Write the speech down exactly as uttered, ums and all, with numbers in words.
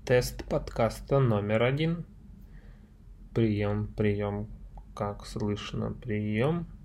Тест подкаста номер один. Прием, прием. Как слышно, прием.